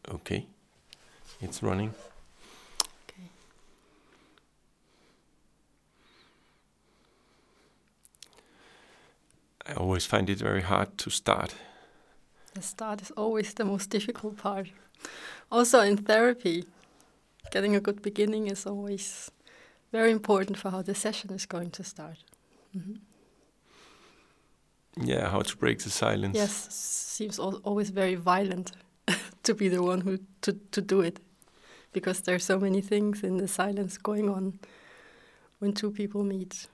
Okay, it's running. Okay. I always find it very hard to start. The start is always the most difficult part. Also in therapy, getting a good beginning is always very important for how the session is going to start. Mm-hmm. Yeah, how to break the silence. Yes, seems always very violent to be the one who to do it, because there are so many things in the silence going on when two people meet.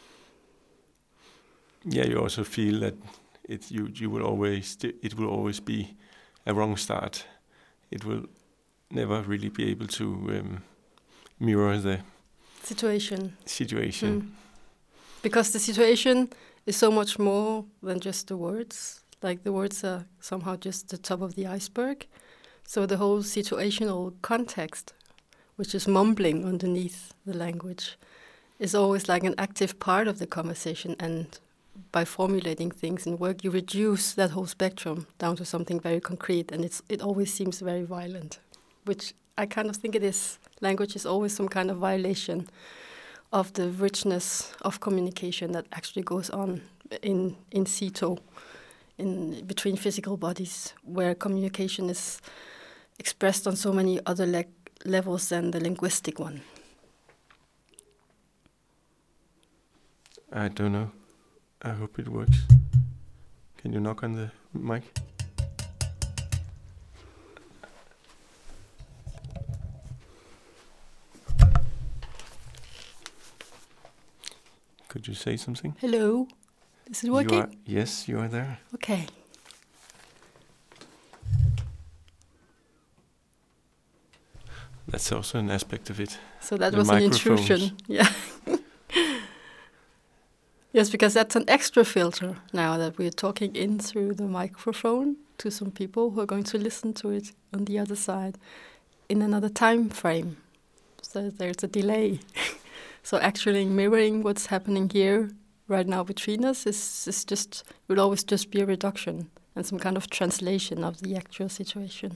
Yeah, you also feel that it will always be a wrong start. It will never really be able to mirror the Situation. Because the situation is so much more than just the words. Like the words are somehow just the top of the iceberg. So the whole situational context, which is mumbling underneath the language, is always like an active part of the conversation. And by formulating things in work, you reduce that whole spectrum down to something very concrete. And it always seems very violent, which I kind of think it is. Language is always some kind of violation of the richness of communication that actually goes on in situ, in between physical bodies, where communication is expressed on so many other levels than the linguistic one. I don't know. I hope it works. Can you knock on the mic? Could you say something? Hello. Is it working? Yes, you are there. Okay. That's also an aspect of it. So that was an intrusion. Yeah. Yes, because that's an extra filter now that we're talking in through the microphone to some people who are going to listen to it on the other side in another time frame. So there's a delay. So actually mirroring what's happening here right now between us is just, will always just be a reduction and some kind of translation of the actual situation.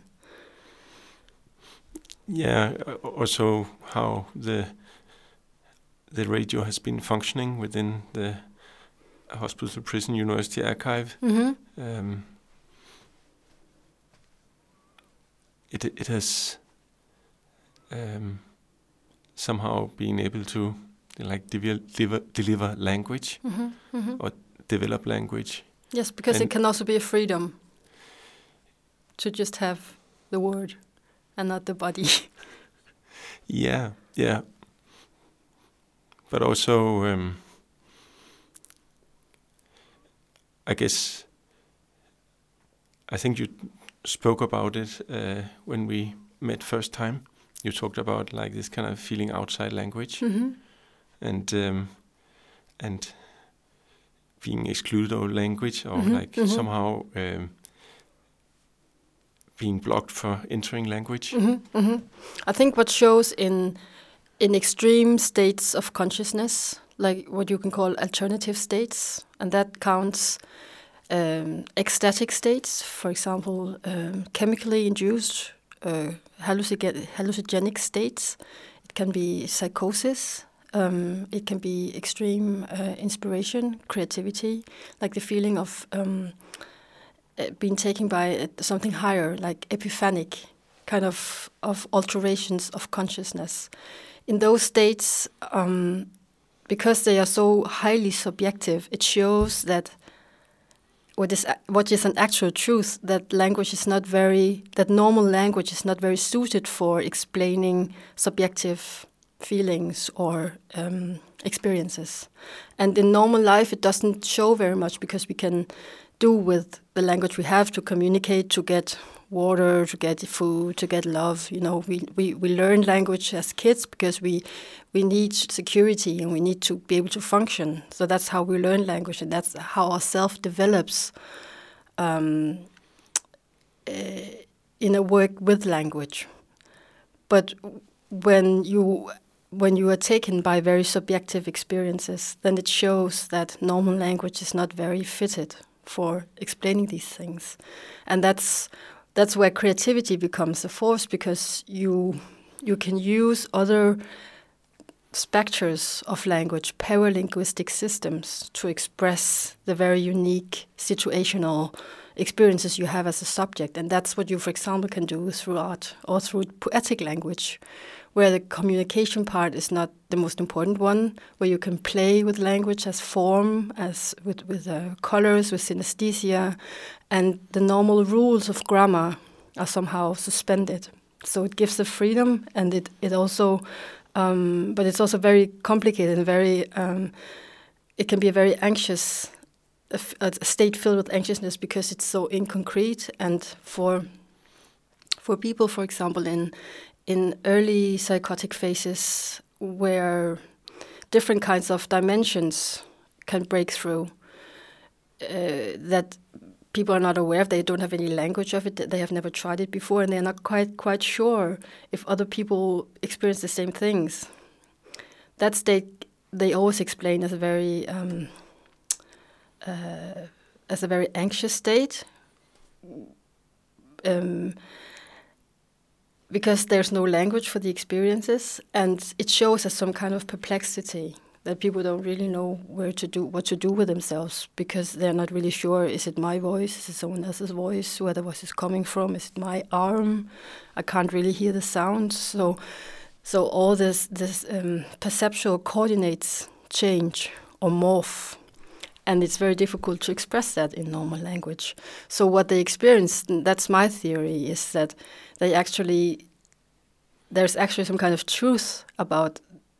Yeah, also how the radio has been functioning within the Hospital Prison University Archive. Mm-hmm. It has somehow been able to like deliver language or develop language. Yes, because it can also be a freedom to just have the word and not the body. Yeah. But also, I guess, I think you spoke about it when we met first time. You talked about like this kind of feeling outside language, and being excluded of language, or somehow being blocked for entering language. I think what shows in extreme states of consciousness, like what you can call alternative states, and that counts ecstatic states, for example, chemically induced hallucinogenic states. It can be psychosis. It can be extreme inspiration, creativity, like the feeling of being taken by something higher, like epiphanic kind of alterations of consciousness. In those states, because they are so highly subjective, it shows that what is an actual truth, that normal language is not very suited for explaining subjective feelings or experiences. And in normal life, it doesn't show very much, because we can do with the language we have to communicate, to get water, to get food, to get love. You know, we learn language as kids because we need security and we need to be able to function. So that's how we learn language, and that's how our self develops in a work with language. But when you are taken by very subjective experiences, then it shows that normal language is not very fitted for explaining these things. And that's that's where creativity becomes a force, because you can use other specters of language, paralinguistic systems, to express the very unique situational experiences you have as a subject. And that's what you, for example, can do through art or through poetic language, where the communication part is not the most important one, where you can play with language as form, as with colors, with synesthesia, and the normal rules of grammar are somehow suspended. So it gives the freedom, and it also, but it's also very complicated and very, it can be a very anxious, a state filled with anxiousness, because it's so inconcrete. And for people, for example, in early psychotic phases, where different kinds of dimensions can break through, that people are not aware of, they don't have any language of it, they have never tried it before, and they're not quite sure if other people experience the same things. That state they always explain as a very anxious state, because there's no language for the experiences, and it shows as some kind of perplexity, that people don't really know what to do with themselves, because they're not really sure, is it my voice, is it someone else's voice, where the voice is coming from, is it my arm, I can't really hear the sound. So all this perceptual coordinates change or morph, and it's very difficult to express that in normal language. So what they experience, that's my theory, is that there's actually some kind of truth about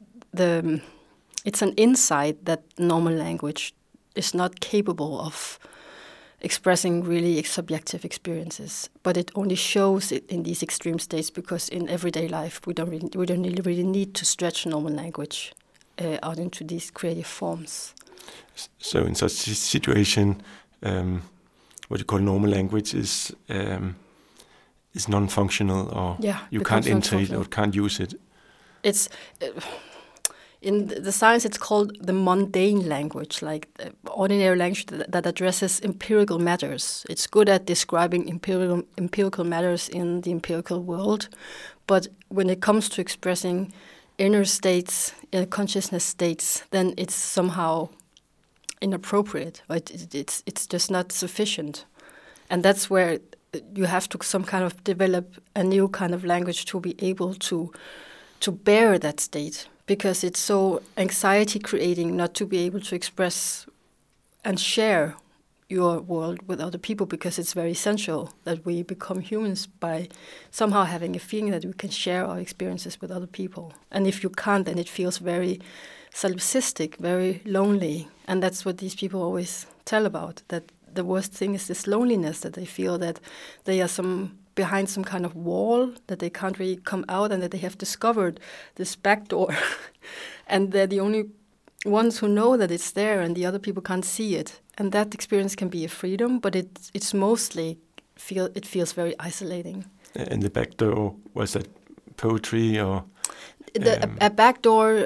it's an insight that normal language is not capable of expressing really subjective experiences, but it only shows it in these extreme states, because in everyday life we don't really need to stretch normal language out into these creative forms. So in such a situation, what you call normal language is non-functional, or you can't enter it or can't use it. It's in the science, it's called the mundane language, like ordinary language that addresses empirical matters. It's good at describing empirical matters in the empirical world, but when it comes to expressing inner states, consciousness states, then it's somehow inappropriate. Right? It's just not sufficient, and that's where you have to some kind of develop a new kind of language to be able to bear that state, because it's so anxiety creating not to be able to express and share your world with other people, because it's very essential that we become humans by somehow having a feeling that we can share our experiences with other people. And if you can't, then it feels very solipsistic, very lonely. And that's what these people always tell about, that the worst thing is this loneliness, that they feel that they are behind some kind of wall, that they can't really come out, and that they have discovered this back door. And they're the only ones who know that it's there, and the other people can't see it. And that experience can be a freedom, but it's mostly it feels very isolating. And the back door, was that poetry or a back door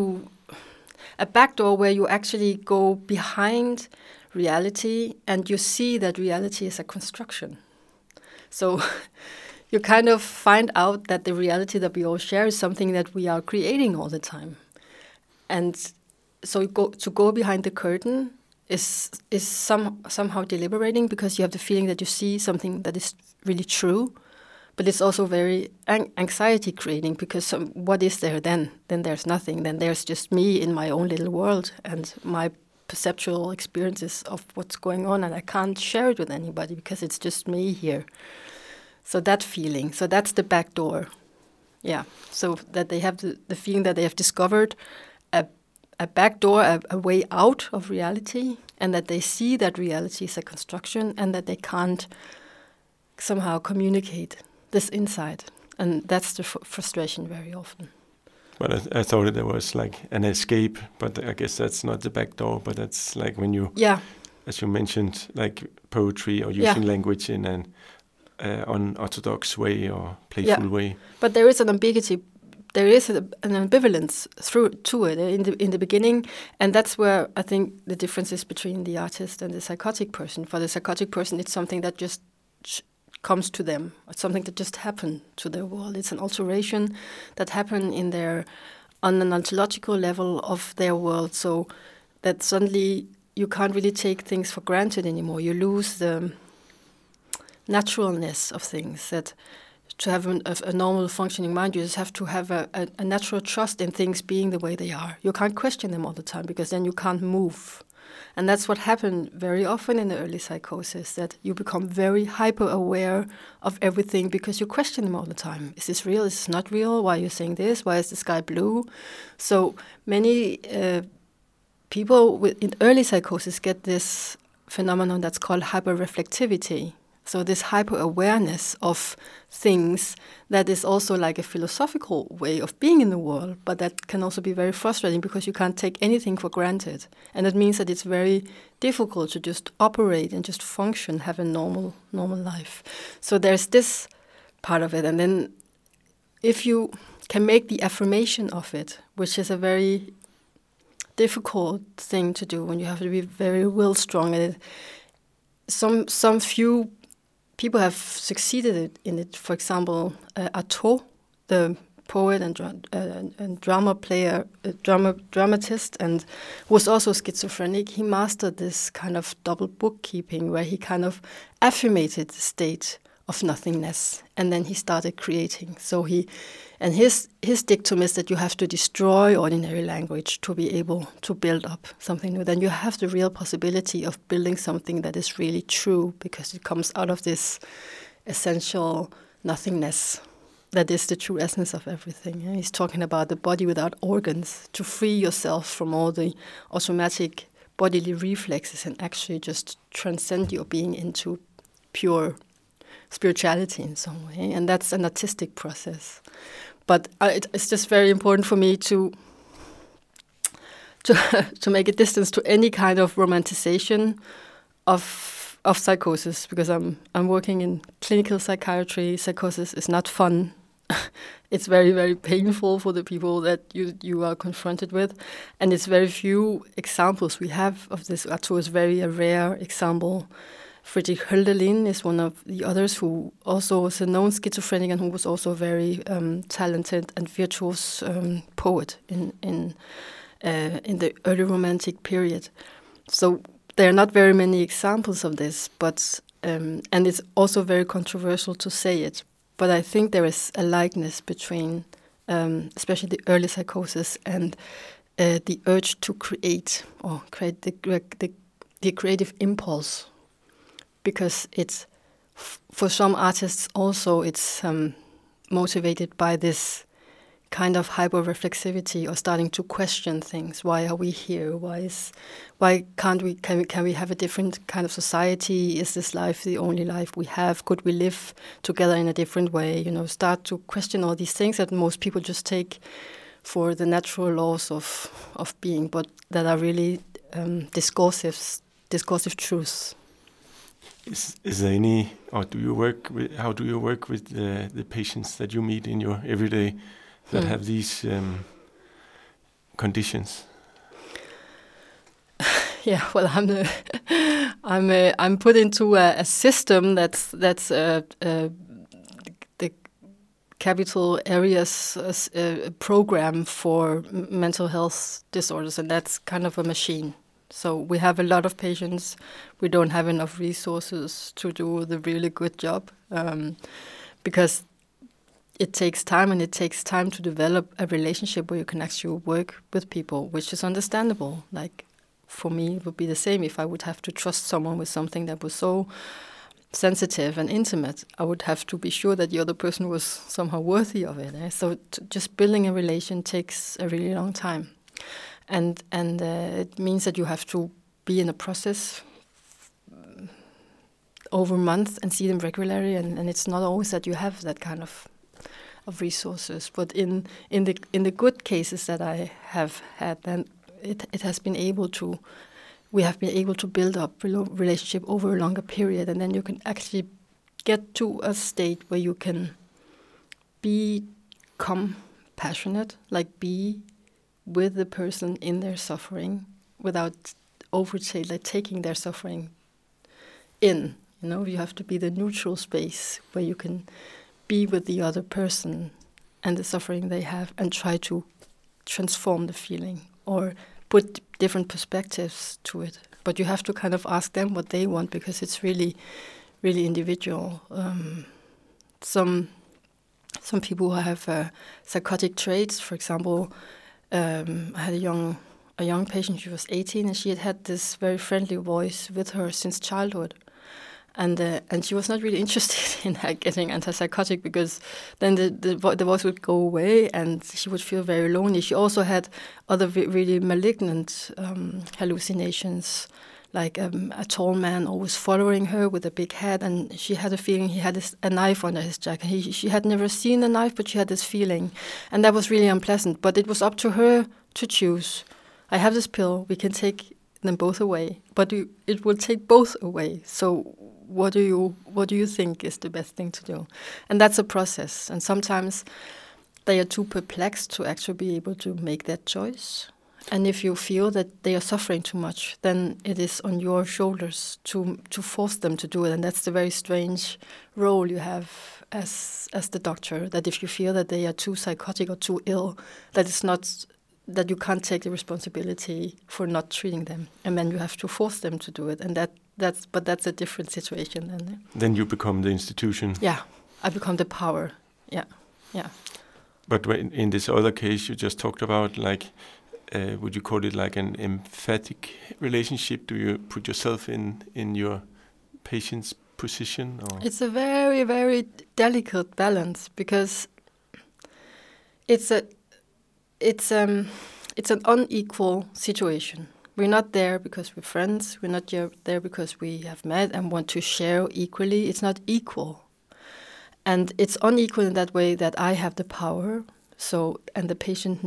where you actually go behind reality, and you see that reality is a construction. So you kind of find out that the reality that we all share is something that we are creating all the time. And so to go behind the curtain is somehow deliberating, because you have the feeling that you see something that is really true, but it's also very anxiety creating, because what is there then? Then there's nothing. Then there's just me in my own little world and my perceptual experiences of what's going on, and I can't share it with anybody because it's just me here. So that feeling, so that's the back door. Yeah, so that they have the feeling that they have discovered a back door, a way out of reality, and that they see that reality is a construction, and that they can't somehow communicate this insight. And that's the frustration very often. But I thought there was like an escape, but I guess that's not the back door, but that's like when you, as you mentioned, like poetry or using language in an unorthodox way or playful way. But there is an ambiguity, there is an ambivalence to it in the beginning, and that's where I think the difference is between the artist and the psychotic person. For the psychotic person, it's something that just comes to them. It's something that just happened to their world. It's an alteration that happened on an ontological level of their world, so that suddenly you can't really take things for granted anymore. You lose the naturalness of things. That to have a normal functioning mind, you just have to have a natural trust in things being the way they are. You can't question them all the time, because then you can't move. And that's what happened very often in the early psychosis, that you become very hyper-aware of everything because you question them all the time. Is this real? Is this not real? Why are you saying this? Why is the sky blue? So many people in early psychosis get this phenomenon that's called hyper-reflectivity. So this hyper-awareness of things that is also like a philosophical way of being in the world, but that can also be very frustrating because you can't take anything for granted. And it means that it's very difficult to just operate and just function, have a normal life. So there's this part of it. And then if you can make the affirmation of it, which is a very difficult thing to do, and you have to be very will strong at it, some few people have succeeded in it. For example, Artaud, the poet and drama player, dramatist, and was also schizophrenic. He mastered this kind of double bookkeeping where he kind of affirmated the state of nothingness, and then he started creating. So his dictum is that you have to destroy ordinary language to be able to build up something new. Then you have the real possibility of building something that is really true, because it comes out of this essential nothingness that is the true essence of everything. And he's talking about the body without organs, to free yourself from all the automatic bodily reflexes and actually just transcend your being into pure spirituality in some way. And that's an artistic process. But it's just very important for me to make a distance to any kind of romanticization of psychosis, because I'm working in clinical psychiatry. Psychosis is not fun. It's very, very painful for the people that you are confronted with, and it's very few examples we have of this. Artaud is very a rare example. Friedrich Hölderlin is one of the others who also was a known schizophrenic and who was also a very talented and virtuous poet in the early Romantic period. So there are not very many examples of this, but and it's also very controversial to say it. But I think there is a likeness between, especially the early psychosis and the urge to create the creative impulse. Because it's, for some artists also, it's motivated by this kind of hyper-reflexivity or starting to question things. Why are we here? Why can't we? Can we have a different kind of society? Is this life the only life we have? Could we live together in a different way? Start to question all these things that most people just take for the natural laws of being, but that are really discursive truths. Is there any, or how do you work with the patients that you meet in your everyday that have these conditions? Yeah, well, I'm put into a system that's the capital areas program for mental health disorders, and that's kind of a machine. So we have a lot of patients. We don't have enough resources to do the really good job because it takes time, and it takes time to develop a relationship where you can actually work with people, which is understandable. Like for me, it would be the same if I would have to trust someone with something that was so sensitive and intimate. I would have to be sure that the other person was somehow worthy of it. So just building a relation takes a really long time. And it means that you have to be in a process over months and see them regularly, and it's not always that you have that kind of resources. But in the good cases that I have had, then it has been able to. We have been able to build up relationship over a longer period, and then you can actually get to a state where you can become passionate, like be with the person in their suffering without taking their suffering in. You know, you have to be the neutral space where you can be with the other person and the suffering they have and try to transform the feeling or put different perspectives to it. But you have to kind of ask them what they want, because it's really, really individual. Some people who have psychotic traits, for example, I had a young patient. She was 18, and she had this very friendly voice with her since childhood. And she was not really interested in getting antipsychotic, because then the voice would go away and she would feel very lonely. She also had other really malignant hallucinations, like a tall man always following her with a big hat, and she had a feeling he had a knife under his jacket. She had never seen a knife, but she had this feeling, and that was really unpleasant. But it was up to her to choose. I have this pill, we can take them both away, but it will take both away. So what do you think is the best thing to do? And that's a process. And sometimes they are too perplexed to actually be able to make that choice. And if you feel that they are suffering too much, then it is on your shoulders to force them to do it. And that's the very strange role you have as the doctor, that if you feel that they are too psychotic or too ill, that you can't take the responsibility for not treating them, and then you have to force them to do it, and that's a different situation then. Then you become the institution. Yeah, I become the power. Yeah. But in this other case you just talked about, like, would you call it like an emphatic relationship? Do you put yourself in your patient's position? Or? It's a very, very delicate balance, because it's an unequal situation. We're not there because we're friends. We're not there because we have met and want to share equally. It's not equal. And it's unequal in that way that I have the power. So, and the patient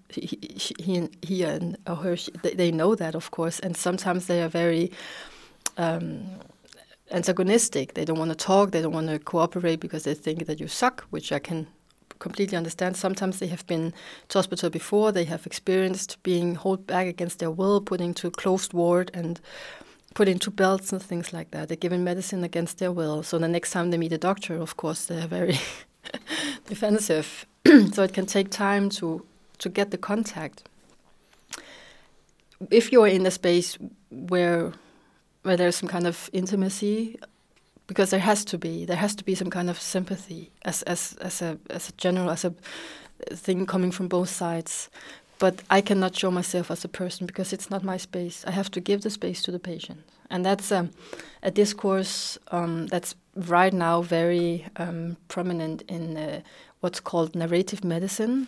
he and her, they know that, of course. And sometimes they are very antagonistic. They don't want to talk. They don't want to cooperate because they think that you suck, which I can completely understand. Sometimes they have been to hospital before. They have experienced being held back against their will, put into closed ward and put into belts and things like that. They're given medicine against their will. So the next time they meet a doctor, of course, they're very defensive. So it can take time to get the contact. If you're in a space where there's some kind of intimacy, because there has to be some kind of sympathy as a thing coming from both sides. But I cannot show myself as a person because it's not my space. I have to give the space to the patient, and that's a discourse that's right now very prominent in what's called narrative medicine,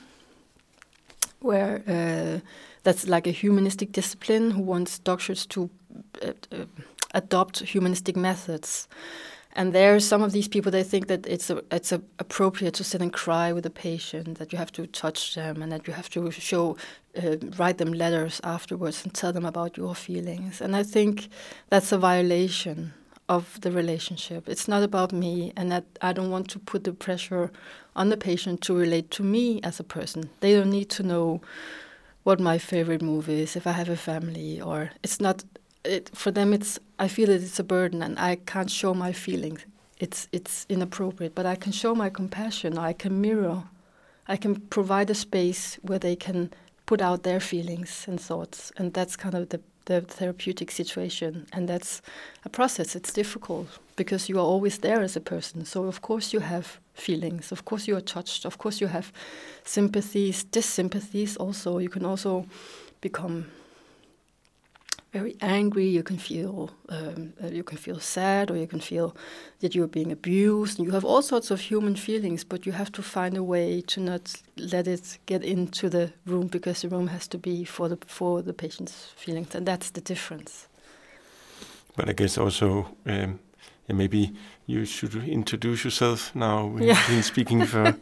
where that's like a humanistic discipline who wants doctors to adopt humanistic methods. And there, some of these people, they think that it's appropriate to sit and cry with a patient, that you have to touch them, and that you have to write them letters afterwards and tell them about your feelings. And I think that's a violation of the relationship. It's not about me, and that I don't want to put the pressure on the patient to relate to me as a person. They don't need to know what my favorite movie is, if I have a family, or it's not. For them, I feel that it's a burden, and I can't show my feelings. It's inappropriate, but I can show my compassion. I can mirror. I can provide a space where they can put out their feelings and thoughts, and that's kind of the therapeutic situation. And that's a process. It's difficult because you are always there as a person. So of course you have feelings. Of course you are touched. Of course you have sympathies, dissympathies. Also, you can also become very angry. You can feel sad, or you can feel that you're being abused. You have all sorts of human feelings, but you have to find a way to not let it get into the room, because the room has to be for the patient's feelings, and that's the difference. But I guess also, maybe you should introduce yourself now. We've been speaking for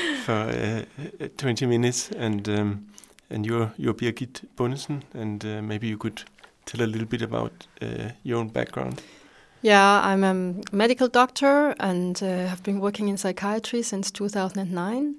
20 minutes, and you're Birgit Bundesen, and maybe you could tell a little bit about your own background. Yeah, I'm a medical doctor and have been working in psychiatry since 2009.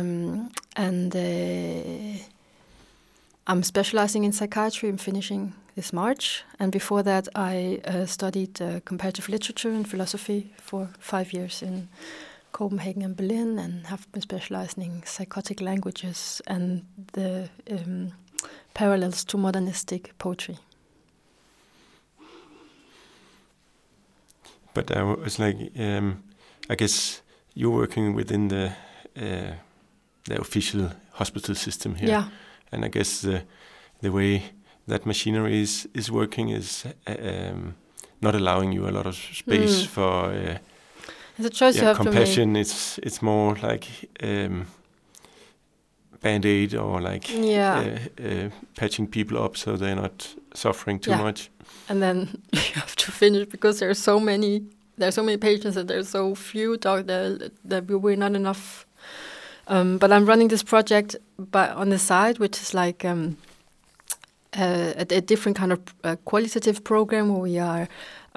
I'm specializing in psychiatry. I'm finishing this March. And before that, I studied comparative literature and philosophy for 5 years in Copenhagen and Berlin, and have been specializing in psychotic languages and the parallels to modernistic poetry. But I was like, I guess you're working within the official hospital system here. Yeah. And I guess the way that machinery is working is not allowing you a lot of space for it's a choice you have compassion. to make. It's more like Band-Aid or like patching people up so they're not suffering too much. And then you have to finish because there are so many patients and there's so few doctors that we're not enough. But I'm running this project on the side, which is like a different kind of qualitative program where we are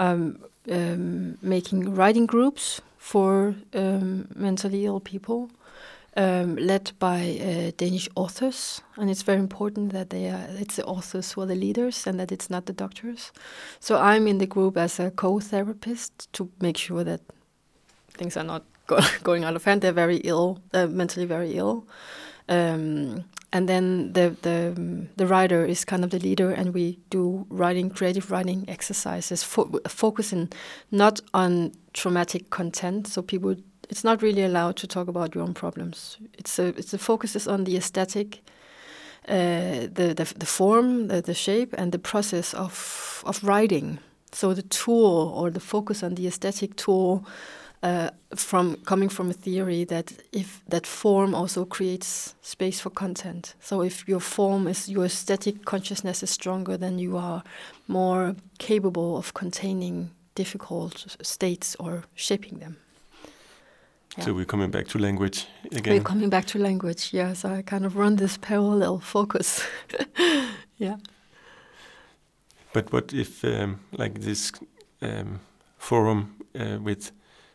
making writing groups for mentally ill people, led by Danish authors, and it's very important that it's the authors who are the leaders and that it's not the doctors. So I'm in the group as a co-therapist to make sure that things are not going out of hand. They're very ill, mentally very ill. And then the writer is kind of the leader, and we do creative writing exercises, focusing not on traumatic content. So it's not really allowed to talk about your own problems. The focus is on the aesthetic, the form, the shape, and the process of writing. So the tool, or the focus on the aesthetic tool, coming from a theory that form also creates space for content. So if your aesthetic consciousness is stronger, then you are more capable of containing difficult states or shaping them. Yeah. So we're coming back to language again. We're coming back to language, yeah. So I kind of run this parallel focus. Yeah. But what if like this forum with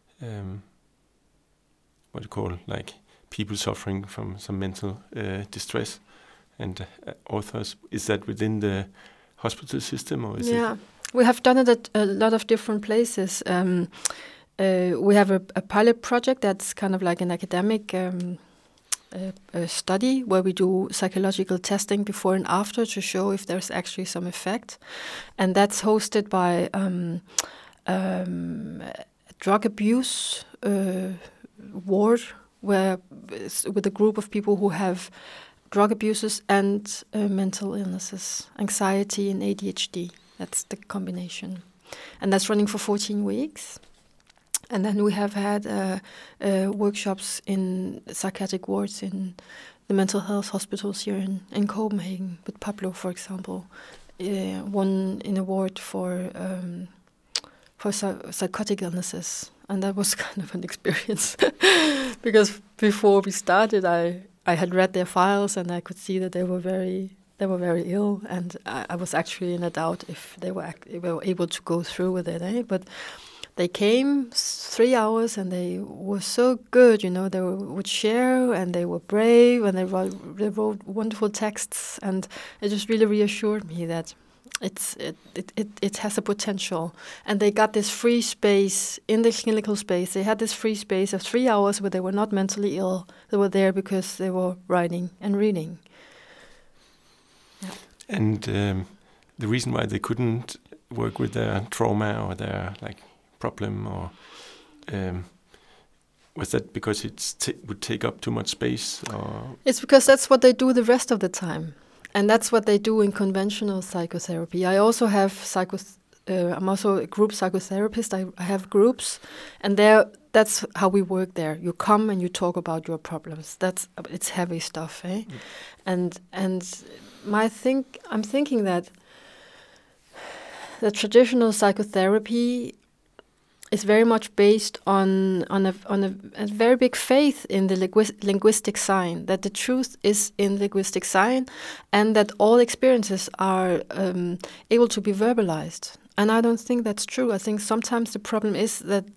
what you call like people suffering from some mental distress and authors, is that within the hospital system, or is it? Yeah, we have done it at a lot of different places. We have a pilot project that's kind of like an academic study where we do psychological testing before and after to show if there's actually some effect, and that's hosted by drug abuse ward, with a group of people who have drug abuses and mental illnesses, anxiety and ADHD. That's the combination, and that's running for 14 weeks. And then we have had workshops in psychiatric wards in the mental health hospitals here in Copenhagen, with Pablo, for example. One in a ward for psychotic illnesses, and that was kind of an experience because before we started, I had read their files and I could see that they were very ill, and I was actually in a doubt if they were able to go through with it. But they came 3 hours and they were so good, they would share, and they were brave, and they wrote wonderful texts, and it just really reassured me that it has a potential. And they got this free space in the clinical space. They had this free space of 3 hours where they were not mentally ill. They were there because they were writing and reading. Yeah. And the reason why they couldn't work with their trauma or their problem, or was that because it would take up too much space? Or it's because that's what they do the rest of the time. And that's what they do in conventional psychotherapy. I also have I'm also a group psychotherapist. I have groups, and that's how we work there. You come and you talk about your problems. It's heavy stuff, eh? And I'm thinking that the traditional psychotherapy is very much based on a very big faith in the linguistic sign, that the truth is in linguistic sign, and that all experiences are able to be verbalized. And I don't think that's true. I think sometimes the problem is that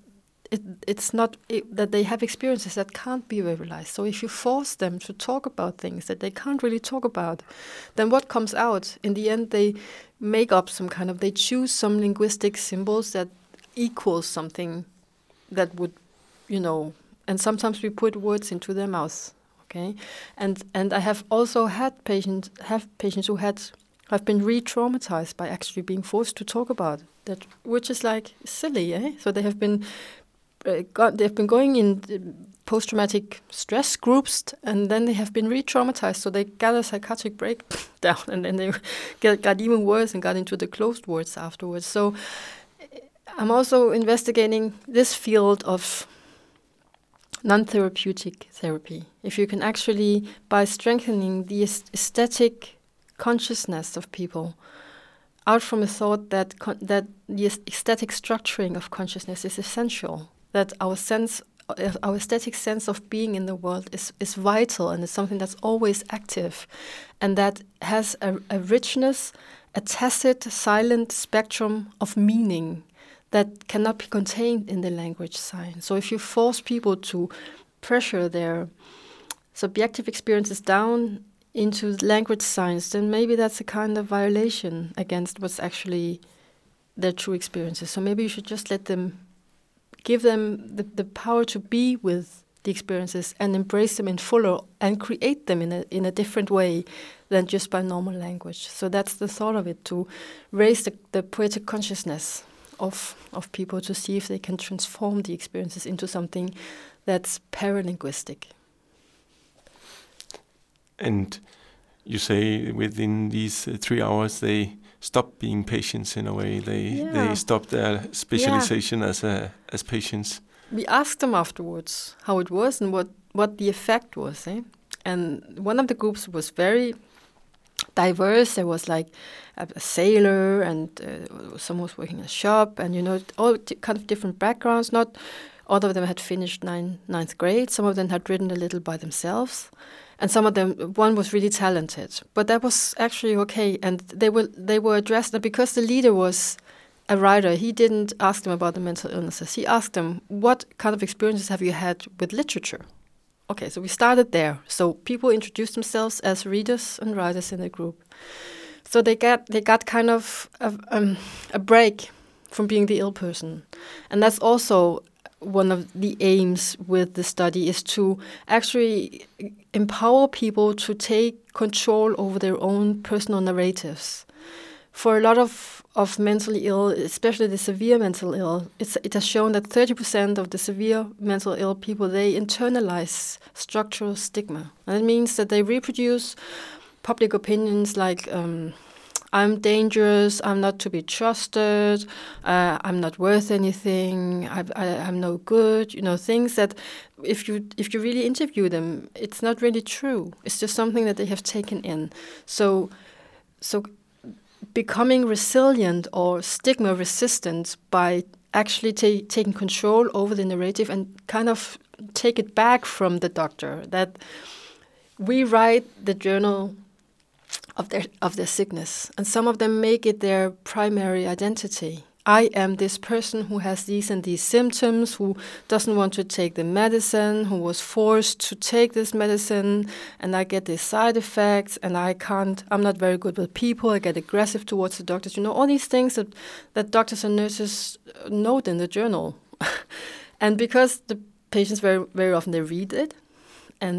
it's not that they have experiences that can't be verbalized. So if you force them to talk about things that they can't really talk about, then what comes out in the end? They make up they choose some linguistic symbols that equals something that would, and sometimes we put words into their mouths. Okay, and I have also had patients who have been re-traumatized by actually being forced to talk about that, which is like silly, eh? So they have been they've been going in post-traumatic stress groups, and then they have been re-traumatized. So they got a psychiatric breakdown, and then they got even worse and got into the closed wards afterwards. So I'm also investigating this field of non-therapeutic therapy. If you can actually, by strengthening the aesthetic consciousness of people, out from a thought that the aesthetic structuring of consciousness is essential, that our aesthetic sense of being in the world is vital, and it's something that's always active, and that has a richness, a tacit, silent spectrum of meaning that cannot be contained in the language sign. So if you force people to pressure their subjective experiences down into language signs, then maybe that's a kind of violation against what's actually their true experiences. So maybe you should just give them the power to be with the experiences and embrace them in fuller and create them in a different way than just by normal language. So that's the thought of it, to raise the poetic consciousness of people, to see if they can transform the experiences into something that's paralinguistic. And you say within these 3 hours they stop being patients in a way. They stop their specialization as patients. We asked them afterwards how it was and what the effect was. And one of the groups was very diverse. There was like a sailor, and someone was working in a shop, and all kind of different backgrounds. Not all of them had finished ninth grade. Some of them had written a little by themselves, and some of them, one was really talented. But that was actually okay, and they were addressed. And because the leader was a writer, he didn't ask them about the mental illnesses. He asked them, what kind of experiences have you had with literature? Okay, so we started there. So people introduced themselves as readers and writers in the group. So they got kind of a break from being the ill person. And that's also one of the aims with the study, is to actually empower people to take control over their own personal narratives. For a lot of mentally ill, especially the severe mental ill, it has shown that 30% of the severe mental ill people, they internalize structural stigma. And it means that they reproduce public opinions like, I'm dangerous, I'm not to be trusted, I'm not worth anything, I'm no good, things that if you really interview them, it's not really true. It's just something that they have taken in. So becoming resilient or stigma resistant by actually taking control over the narrative and kind of take it back from the doctor, that we write the journal of their sickness, and some of them make it their primary identity. I am this person who has these and these symptoms, who doesn't want to take the medicine, who was forced to take this medicine, and I get these side effects, and I'm not very good with people, I get aggressive towards the doctors. All these things that doctors and nurses note in the journal. And because the patients very, very often, they read it, and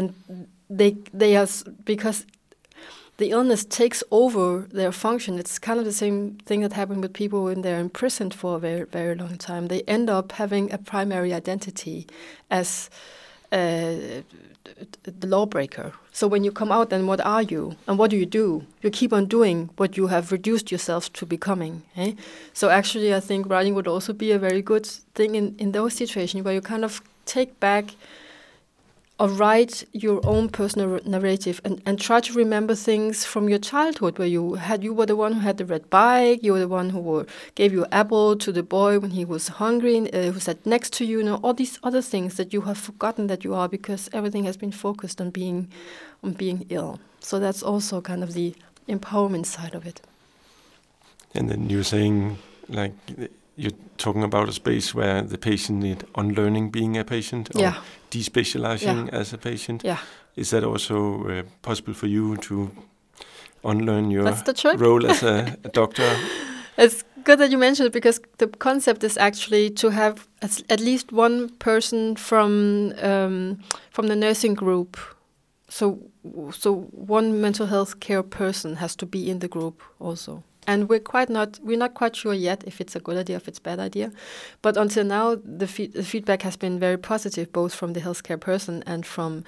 they are, because the illness takes over their function. It's kind of the same thing that happened with people when they're imprisoned for a very, very long time. They end up having a primary identity as the lawbreaker. So when you come out, then what are you? And what do? You keep on doing what you have reduced yourself to becoming. So actually, I think writing would also be a very good thing in those situations where you kind of take back or write your own personal narrative and try to remember things from your childhood, where you were the one who had the red bike, you were the one who gave your apple to the boy when he was hungry, who sat next to you, all these other things that you have forgotten that you are, because everything has been focused on being ill. So that's also kind of the empowerment side of it. And then you're saying, like, you're talking about a space where the patient need unlearning being a patient or despecializing as a patient. Yeah. Is that also possible for you to unlearn your role as a doctor? It's good that you mentioned it, because the concept is actually to have at least one person from the nursing group. So one mental health care person has to be in the group also. And we're not quite sure yet if it's a good idea, if it's a bad idea. But until now, the feedback has been very positive, both from the healthcare person and from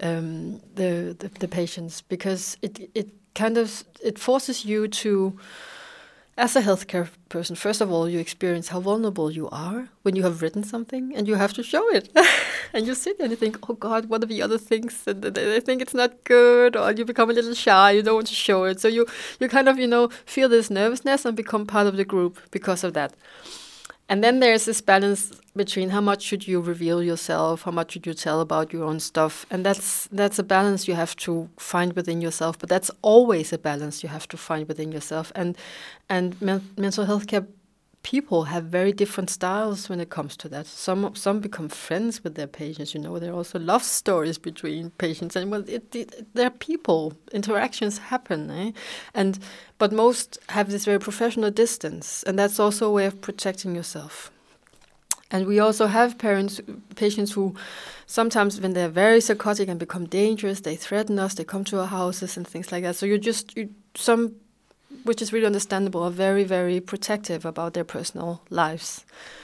the patients, because it forces you to, as a healthcare person, first of all, you experience how vulnerable you are when you have written something and you have to show it. And you sit and you think, oh God, what are the other things? And they think it's not good, or you become a little shy, you don't want to show it. So you kind of, feel this nervousness and become part of the group because of that. And then there's this balance between how much should you reveal yourself, how much should you tell about your own stuff. And that's a balance you have to find within yourself. But that's always a balance you have to find within yourself. And mental health care people have very different styles when it comes to that. Some become friends with their patients. There are also love stories between patients, and they're people. Interactions happen, but most have this very professional distance, and that's also a way of protecting yourself. And we also have patients who sometimes, when they're very psychotic and become dangerous, they threaten us. They come to our houses and things like that. So some, which is really understandable, are very, very protective about their personal lives.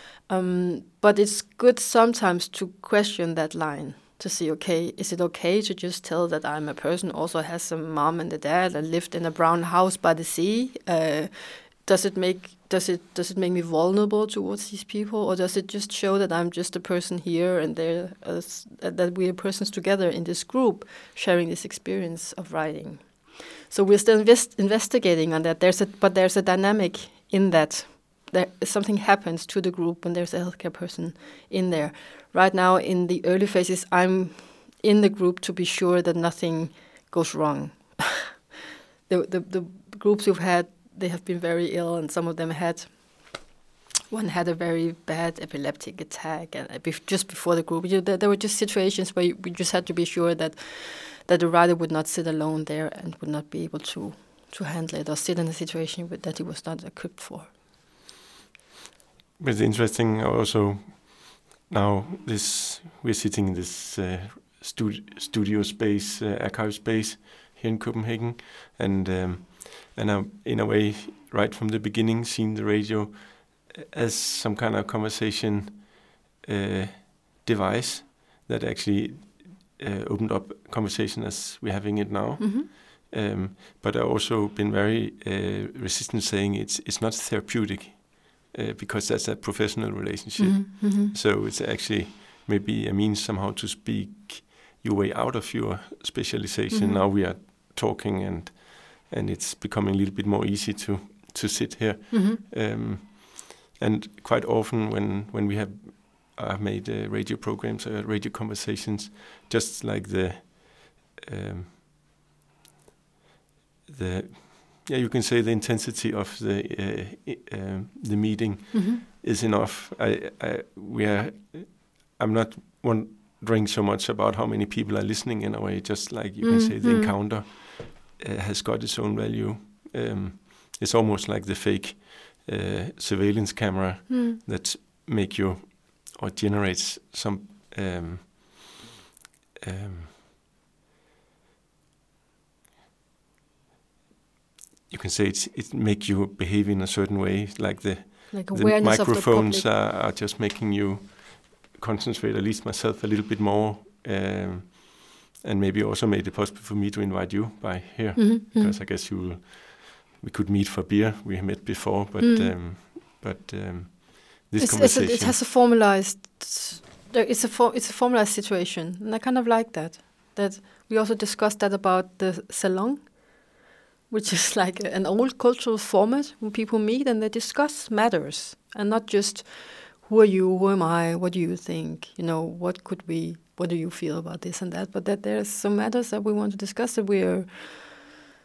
But it's good sometimes to question that line, to see, okay, is it okay to just tell that I'm a person who also has a mom and a dad and lived in a brown house by the sea? Does it make me vulnerable towards these people, or does it just show that I'm just a person here and that we are persons together in this group sharing this experience of writing? So we're still investigating on that. But there's a dynamic in that. Something happens to the group when there's a healthcare person in there. Right now, in the early phases, I'm in the group to be sure that nothing goes wrong. The groups we've had, they have been very ill, and some of them one had a very bad epileptic attack, and just before the group, there were just situations where we just had to be sure that the writer would not sit alone there and would not be able to handle it, or sit in a situation that he was not equipped for. It's interesting also now we're sitting in this studio space, archive space here in Copenhagen, and I've, in a way, right from the beginning, seen the radio as some kind of conversation device that actually opened up conversation as we're having it now. Mm-hmm. But I've also been very resistant, saying it's not therapeutic, because that's a professional relationship. Mm-hmm. Mm-hmm. So it's actually maybe a means somehow to speak your way out of your specialization. Mm-hmm. Now we are talking, and it's becoming a little bit more easy to sit here. Mm-hmm. And quite often when we have made radio programs, radio conversations, just like you can say the intensity of the meeting mm-hmm. is enough. I'm not wondering so much about how many people are listening, in a way, just like you can say the encounter has got its own value. It's almost like the fake surveillance camera that make you or generates some you can say it make you behave in a certain way, like the microphones are just making you concentrate, at least myself, a little bit more, and maybe also made it possible for me to invite you by here, because I guess we could meet for beer. We have met before, but this conversation, it has a formalized. It's a formalized situation, and I kind of like that. That we also discussed that about the salon, which is like an old cultural format when people meet and they discuss matters, and not just who are you, who am I, what do you think, what do you feel about this and that, but that there's some matters that we want to discuss that we're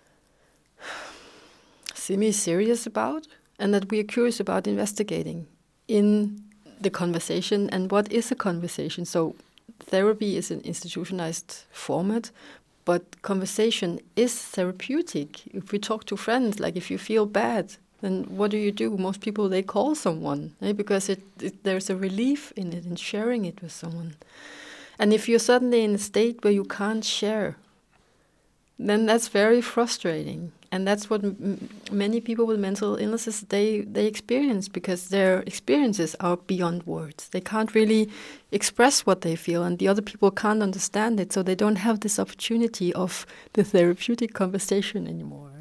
semi-serious about, and that we are curious about investigating. in the conversation and what is a conversation. So therapy is an institutionalized format, but conversation is therapeutic. If we talk to friends, like if you feel bad, then what do? Most people, they call someone, because there's a relief in it, in sharing it with someone. And if you're suddenly in a state where you can't share, then that's very frustrating. And that's what many people with mental illnesses, they experience, because their experiences are beyond words. They can't really express what they feel, and the other people can't understand it, so they don't have this opportunity of the therapeutic conversation anymore.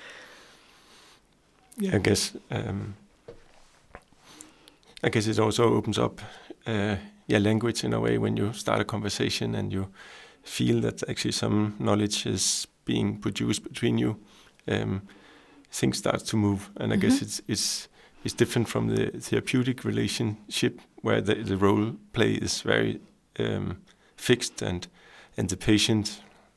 Yeah, I guess it also opens up language in a way when you start a conversation and you feel that actually some knowledge is being produced between you. Things start to move, and I guess it's different from the therapeutic relationship where the role play is very fixed, and the patient,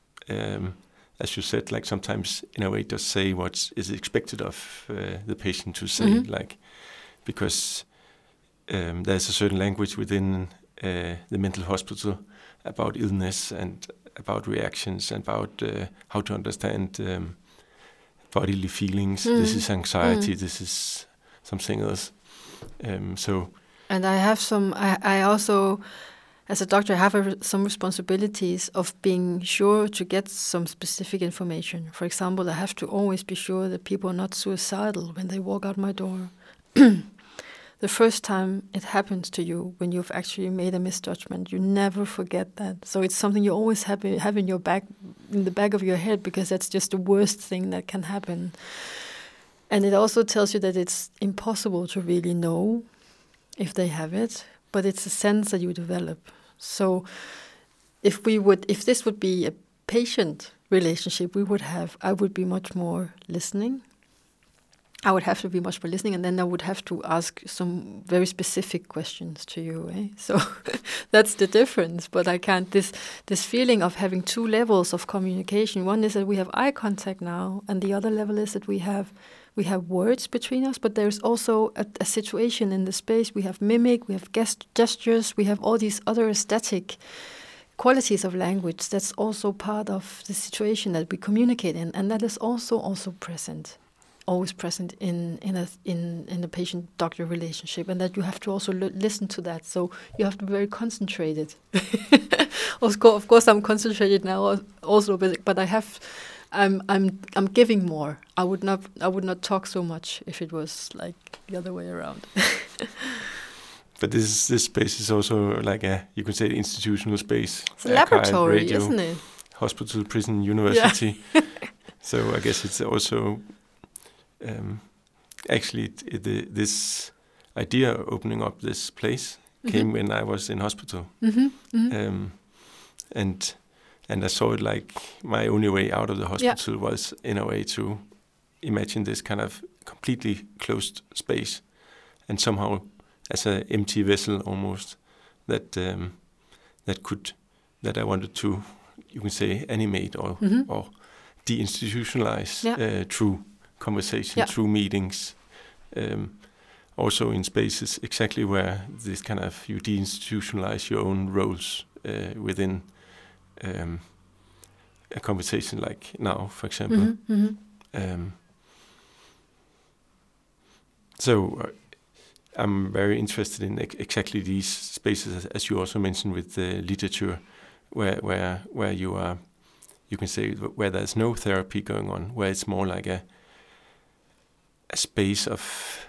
as you said, like sometimes in a way just say what is expected of the patient to say, like, because there's a certain language within the mental hospital about illness and about reactions and about how to understand bodily feelings. This is anxiety. This is something else. And I have I also, as a doctor, have some responsibilities of being sure to get some specific information. For example, I have to always be sure that people are not suicidal when they walk out my door. The first time it happens to you, when you've actually made a misjudgment, you never forget that. So it's something you always have in the back of your head, because that's just the worst thing that can happen. And it also tells you that it's impossible to really know if they have it, but it's a sense that you develop. So if this would be a patient relationship, I would be much more listening. I would have to be much more listening, and then I would have to ask some very specific questions to you. So that's the difference. But I can't. This feeling of having two levels of communication. One is that we have eye contact now, and the other level is that we have words between us. But there's also a situation in the space. We have mimic, we have gestures, we have all these other aesthetic qualities of language. That's also part of the situation that we communicate in, and that is also present. Always present in a patient-doctor relationship, and that you have to also listen to that. So you have to be very concentrated. Of course, I'm concentrated now also, but I'm giving more. I would not talk so much if it was like the other way around. But this space is also like you could say, institutional space. It's a laboratory, radio, isn't it? Hospital, prison, university. Yeah. So I guess it's also. Actually, this idea of opening up this place came when I was in hospital, and I saw it like my only way out of the hospital was in a way to imagine this kind of completely closed space, and somehow as an empty vessel almost that I wanted to, you can say, animate or deinstitutionalize through conversation, through meetings, also in spaces exactly where this kind of you deinstitutionalize your own roles within a conversation like now, for example. So I'm very interested in exactly these spaces, as you also mentioned with the literature, where you are, you can say, where there's no therapy going on, where it's more like a space of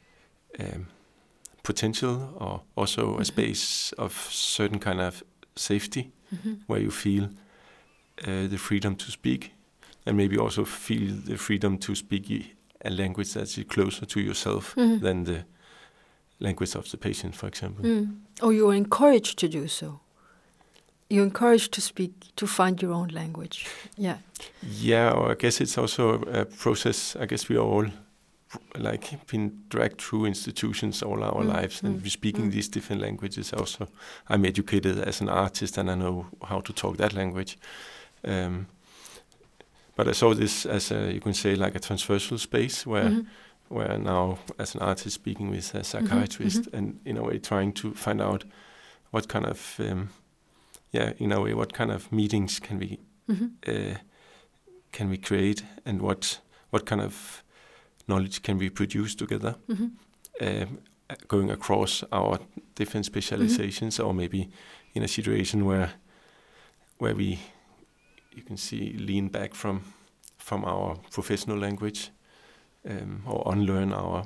potential, or also a space of certain kind of safety, where you feel the freedom to speak, and maybe also feel the freedom to speak a language that's closer to yourself than the language of the patient, for example. Or you're encouraged to do so. You're encouraged to speak, to find your own language. Yeah. Yeah, or I guess it's also a process. I guess we are all like been dragged through institutions all our lives, and we're speaking these different languages. Also, I'm educated as an artist, and I know how to talk that language. But I saw this as you can say, like a transversal space where where now as an artist speaking with a psychiatrist and in a way trying to find out what kind of in a way what kind of meetings can we create, and what kind of knowledge can we produce together, going across our different specializations, or maybe in a situation where we, you can see, lean back from our professional language, or unlearn our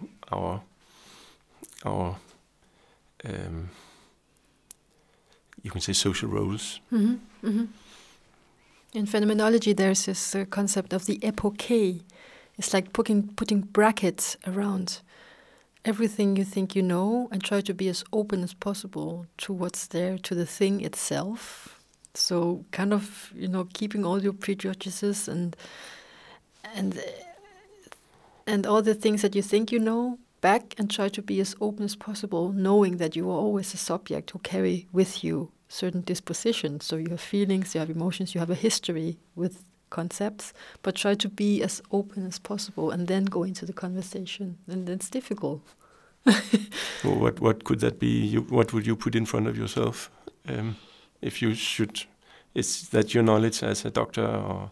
you can say social roles. In phenomenology, there's this concept of the epoche. It's like putting brackets around everything you think you know, and try to be as open as possible to what's there, to the thing itself. So kind of, keeping all your prejudices and all the things that you think you know back, and try to be as open as possible, knowing that you are always a subject who carry with you certain dispositions. So you have feelings, you have emotions, you have a history with concepts, but try to be as open as possible and then go into the conversation. And it's difficult. Well, what could that be? What would you put in front of yourself? If you should, is that your knowledge as a doctor, or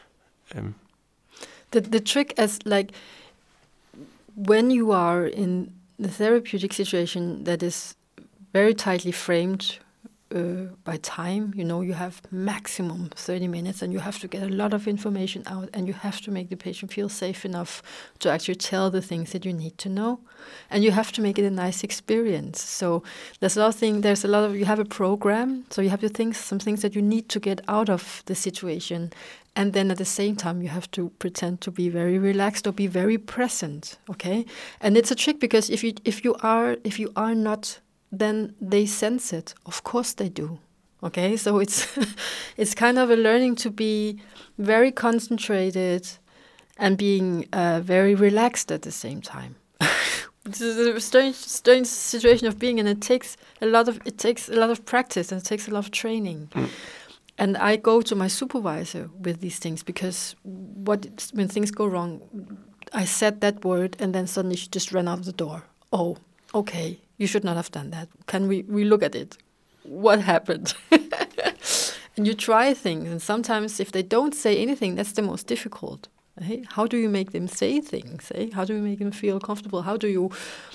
the trick is like when you are in the therapeutic situation that is very tightly framed by time, you have maximum 30 minutes, and you have to get a lot of information out, and you have to make the patient feel safe enough to actually tell the things that you need to know, and you have to make it a nice experience. So there's a lot of you have a program, so you have some things that you need to get out of the situation, and then at the same time you have to pretend to be very relaxed or be very present. Okay, and it's a trick, because if you are not, then they sense it. Of course they do. Okay, so it's kind of a learning to be very concentrated and being very relaxed at the same time. It's a strange situation of being, and it takes a lot of practice, and it takes a lot of training. And I go to my supervisor with these things, because when things go wrong, I said that word, and then suddenly she just ran out of the door. Oh, okay. You should not have done that. Can we look at it? What happened? And you try things, and sometimes if they don't say anything, that's the most difficult. Hey? How do you make them say things? Eh? How do you make them feel comfortable? How do you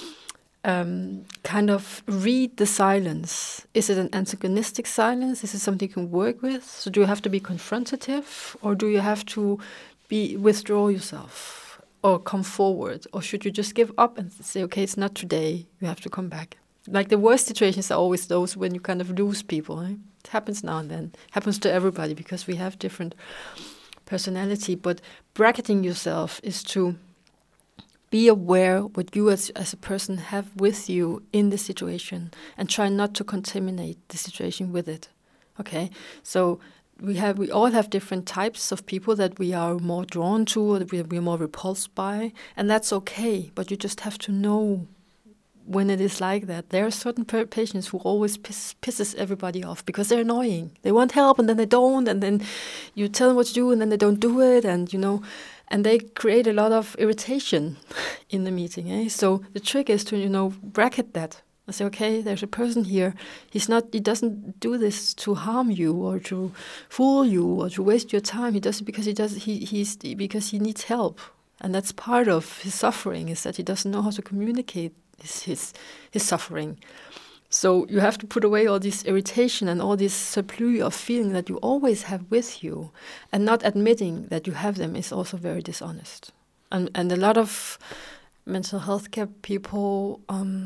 kind of read the silence? Is it an antagonistic silence? Is it something you can work with? So do you have to be confrontative, or do you have to withdraw yourself? Or come forward? Or should you just give up and say, okay, it's not today, you have to come back? Like the worst situations are always those when you kind of lose people. Eh? It happens now and then. It happens to everybody, because we have different personality. But bracketing yourself is to be aware what you as a person have with you in the situation, and try not to contaminate the situation with it. Okay? So we all have different types of people that we are more drawn to, or that we're more repulsed by, and that's okay. But you just have to know when it is like that. There are certain patients who always pisses everybody off because they're annoying. They want help, and then they don't, and then you tell them what to do, and then they don't do it, and and they create a lot of irritation in the meeting. Eh? So the trick is to bracket that. I say, okay, there's a person here. He doesn't do this to harm you, or to fool you, or to waste your time. He does it because because he needs help, and that's part of his suffering, is that he doesn't know how to communicate his suffering. So you have to put away all this irritation and all this surplus of feeling that you always have with you, and not admitting that you have them is also very dishonest. And a lot of mental health care people.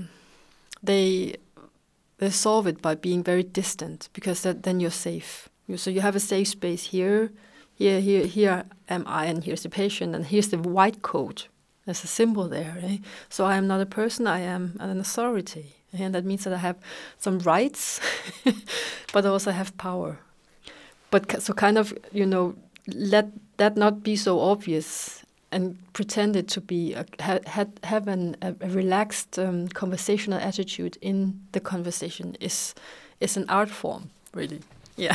They solve it by being very distant, because then you're safe. So you have a safe space here am I, and here's the patient, and here's the white coat. There's a symbol there. Eh? So I am not a person, I am an authority. And that means that I have some rights, but I also have power. But so kind of, let that not be so obvious, and pretend it to be have a relaxed conversational attitude in the conversation is an art form, really. Yeah.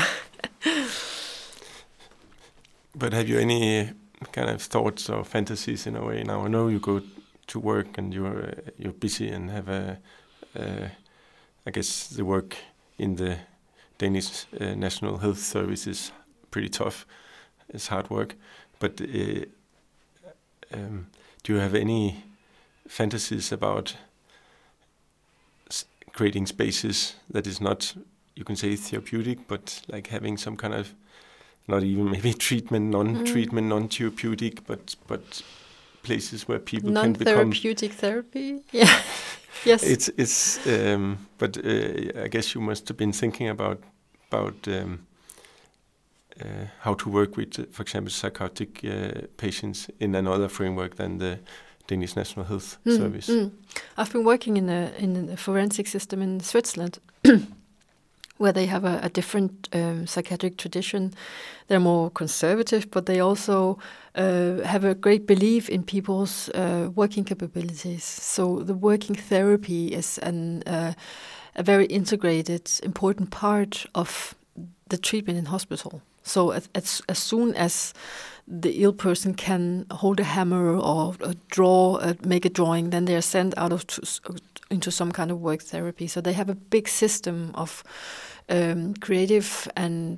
But have you any kind of thoughts or fantasies in a way? Now I know you go to work and you're busy and have I guess the work in the Danish National Health Service is pretty tough. It's hard work. But do you have any fantasies about creating spaces that is not, you can say, therapeutic, but like having some kind of, not even maybe treatment, non-treatment, non-therapeutic, but places where people can become non-therapeutic therapy? Yeah. Yes. It's but I guess you must have been thinking about how to work with, for example, psychotic patients in another framework than the Danish National Health Service. I've been working in a forensic system in Switzerland, where they have a different psychiatric tradition. They're more conservative, but they also have a great belief in people's working capabilities. So the working therapy is a very integrated, important part of the treatment in hospital. So as soon as the ill person can hold a hammer or make a drawing, then they are sent into some kind of work therapy. So they have a big system of creative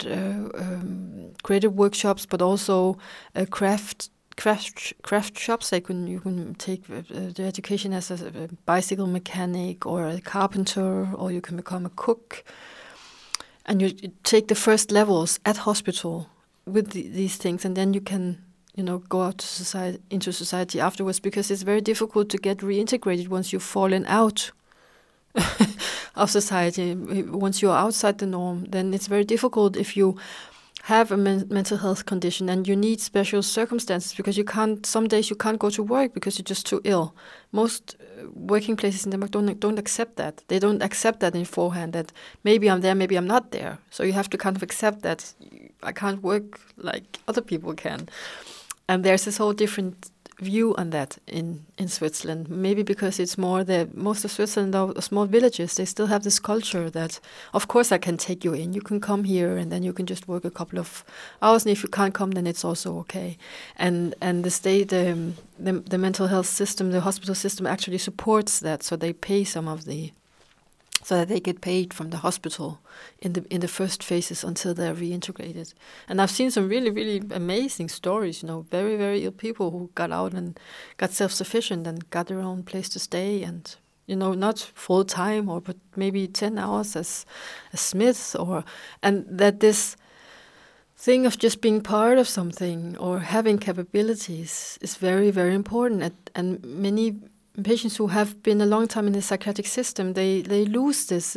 workshops, but also craft shops. You can take the education as a bicycle mechanic or a carpenter, or you can become a cook. And you take the first levels at hospital with these things, and then you can, go out to into society afterwards, because it's very difficult to get reintegrated once you've fallen out of society. Once you're outside the norm, then it's very difficult if you have a mental health condition and you need special circumstances, because some days you can't go to work because you're just too ill. Most working places in Denmark don't accept that. They don't accept that beforehand, that maybe I'm there, maybe I'm not there. So you have to kind of accept that I can't work like other people can. And there's this whole different view on that in Switzerland. Maybe because it's more most of Switzerland are small villages. They still have this culture that, of course, I can take you in. You can come here, and then you can just work a couple of hours. And if you can't come, then it's also okay. And the state, the mental health system, the hospital system actually supports that. So they pay so that they get paid from the hospital in the first phases until they're reintegrated. And I've seen some really, really amazing stories, very, very ill people who got out and got self-sufficient and got their own place to stay, and, not full time, but maybe 10 hours as smiths, and that this thing of just being part of something or having capabilities is very, very important. And many patients who have been a long time in the psychiatric system, they lose this.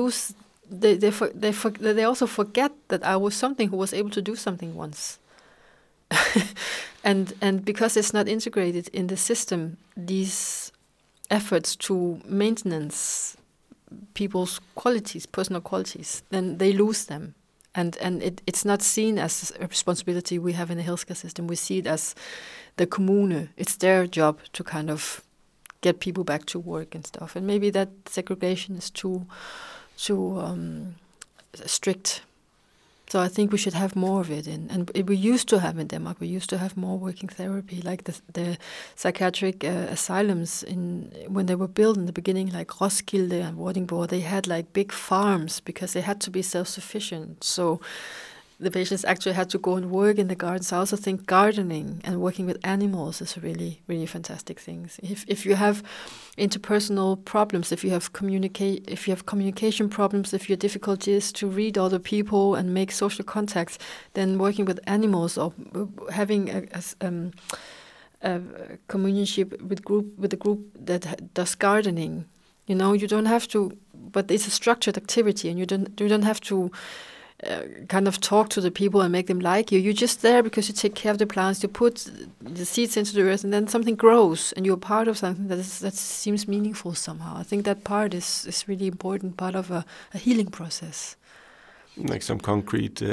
They also forget that I was something who was able to do something once. and because it's not integrated in the system, these efforts to maintenance people's qualities, personal qualities, then they lose them. And it's not seen as a responsibility we have in the healthcare system. We see it as the kommune. It's their job to kind of get people back to work and stuff. And maybe that segregation is too strict. So I think we should have more of it. And we used to have in Denmark, we used to have more working therapy, like the psychiatric asylums when they were built in the beginning, like Roskilde and Vordingborg, they had like big farms because they had to be self-sufficient. So the patients actually had to go and work in the gardens. I also think gardening and working with animals is a really, really fantastic thing. If you have interpersonal problems, if you have communication problems, if your difficulty is to read other people and make social contacts, then working with animals or having a companionship with a group that does gardening, you don't have to. But it's a structured activity, and you don't have to kind of talk to the people and make them like you. You're just there because you take care of the plants. You put the seeds into the earth, and then something grows, and you're part of something that seems meaningful somehow. I think that part is really important, part of a healing process. Like some concrete,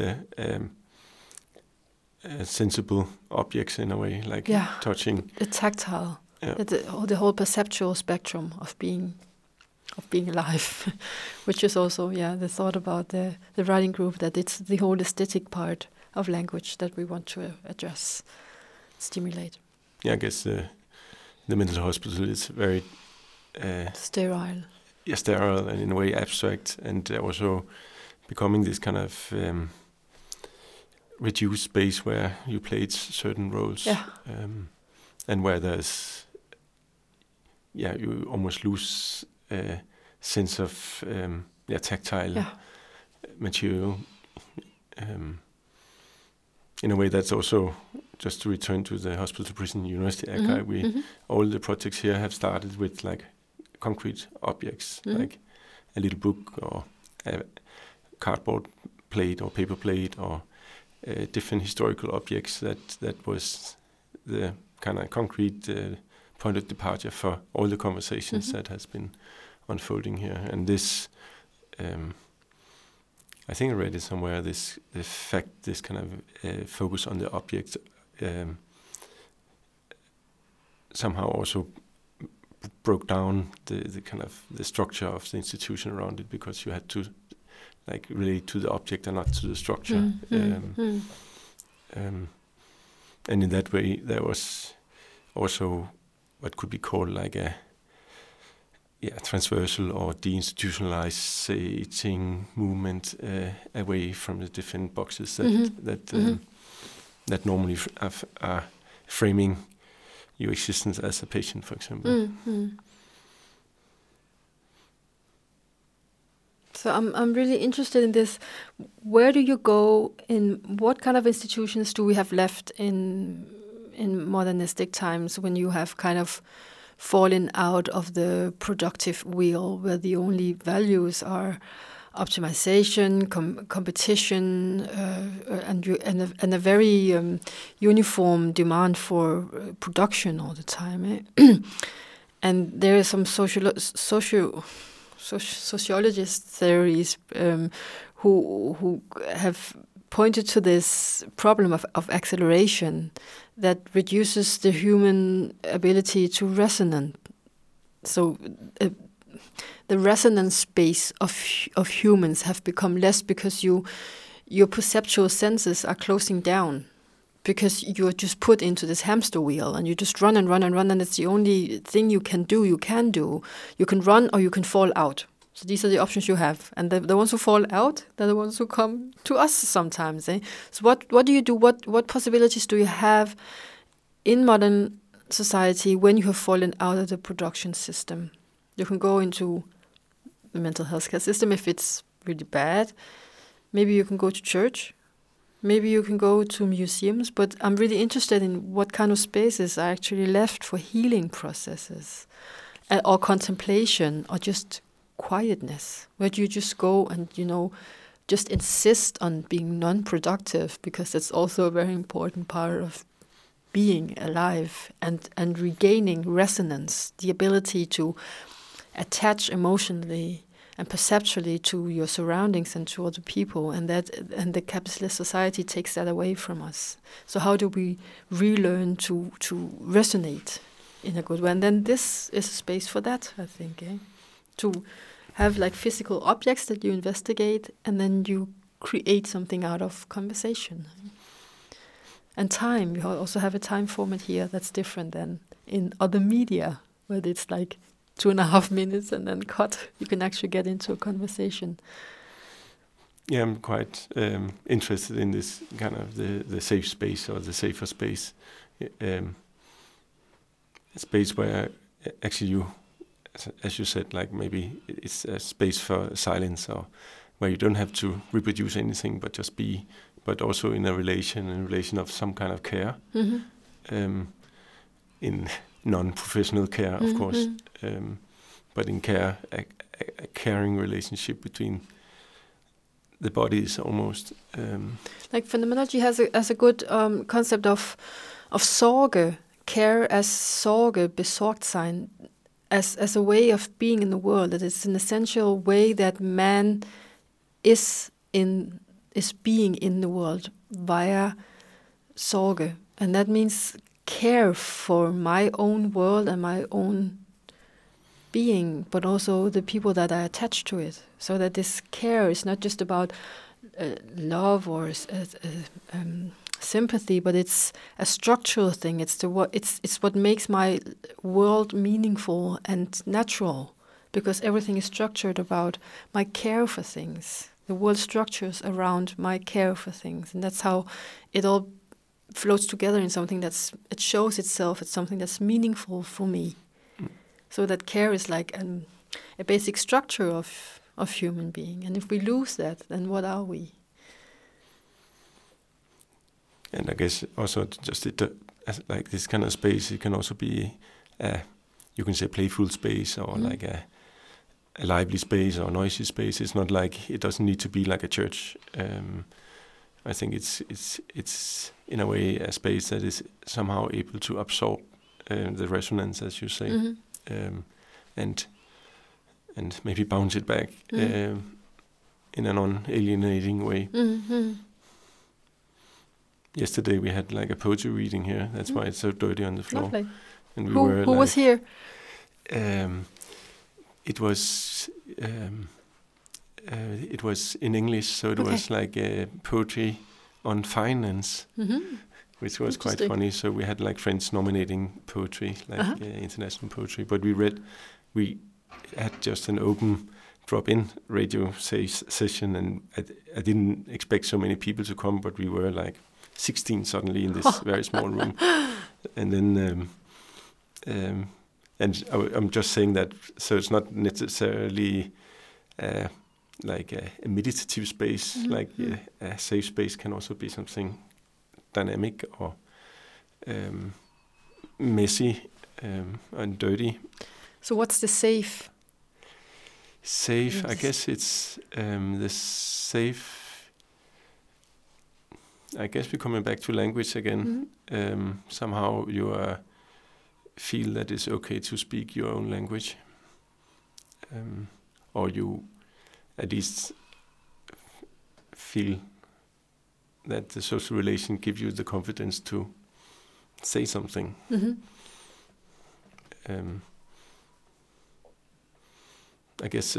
sensible objects in a way, like touching. The tactile, the whole perceptual spectrum of being alive, which is also the thought about the writing group, that it's the whole aesthetic part of language that we want to address, stimulate. Yeah, I guess the mental hospital is very sterile. Yeah, sterile and in a way abstract, and also becoming this kind of reduced space where you played certain roles, and where there's you almost lose sense of tactile material. In a way, that's also, just to return to the Hospital to Prison University archive, all the projects here have started with like concrete objects, like a little book or a cardboard plate or paper plate or different historical objects. That was the kind of concrete point of departure for all the conversations that has been unfolding here. And this, I think I read it somewhere, this kind of focus on the object somehow also broke down the kind of the structure of the institution around it, because you had to like relate to the object and not to the structure. And in that way, there was also what could be called like a transversal or deinstitutionalizing movement away from the different boxes that normally are framing your existence as a patient, for example. So I'm really interested in this. Where do you go in what kind of institutions do we have left in modernistic times, when you have kind of fallen out of the productive wheel, where the only values are optimization, competition, and a very uniform demand for production all the time. And there are some sociologist theories who have pointed to this problem of acceleration that reduces the human ability to resonate. So the resonance space of humans have become less because your perceptual senses are closing down, because you're just put into this hamster wheel and you just run and run and run, and it's the only thing you can do. You can run or you can fall out. So these are the options you have. And the ones who fall out, they're the ones who come to us sometimes. So what do you do? What possibilities do you have in modern society when you have fallen out of the production system? You can go into the mental health care system if it's really bad. Maybe you can go to church. Maybe you can go to museums. But I'm really interested in what kind of spaces are actually left for healing processes or contemplation or just quietness, where you just go and, just insist on being non-productive, because that's also a very important part of being alive and regaining resonance, the ability to attach emotionally and perceptually to your surroundings and to other people, and the capitalist society takes that away from us. So how do we relearn to resonate in a good way? And then this is a space for that, I think, to have like physical objects that you investigate, and then you create something out of conversation. And time, you also have a time format here that's different than in other media, where it's like 2.5 minutes and then cut. You can actually get into a conversation. Yeah, I'm quite interested in this kind of the safe space or the safer space. A space where actually you, as you said, like maybe it's a space for silence, or where you don't have to reproduce anything but just be, but also in a relation of some kind of care, in non-professional care, of course, but in care, a caring relationship between the bodies almost. Like phenomenology has a good concept of Sorge, care as Sorge, besorgt sein, as a way of being in the world, that it's an essential way that man is being in the world via Sorge. And that means care for my own world and my own being, but also the people that are attached to it. So that this care is not just about love or sympathy, but it's a structural thing. It's what makes my world meaningful and natural, because everything is structured about my care for things. The world structures around my care for things, and that's how it all floats together in something it shows itself as something that's meaningful for me. So that care is like a basic structure of human being, and if we lose that, then what are we? And I guess also just like this kind of space, it can also be, you can say, playful space, or like a lively space or noisy space. It's not like, it doesn't need to be like a church. I think it's in a way a space that is somehow able to absorb the resonance, as you say, and maybe bounce it back in a non-alienating way. Yesterday we had like a poetry reading here. That's why it's so dirty on the floor. Lovely. And who was here? It was in English, so it was like poetry on finance, which was quite funny. So we had like friends nominating poetry, like international poetry, but we had just an open drop-in radio session, and I didn't expect so many people to come, but we were like 16 suddenly in this very small room. And then and I'm just saying that, so it's not necessarily like a meditative space, like a safe space can also be something dynamic or messy and dirty. So what's the safe? Safe, I guess it's the safe. I guess we're coming back to language again. Somehow you feel that it's okay to speak your own language, or you at least feel that the social relation gives you the confidence to say something. I guess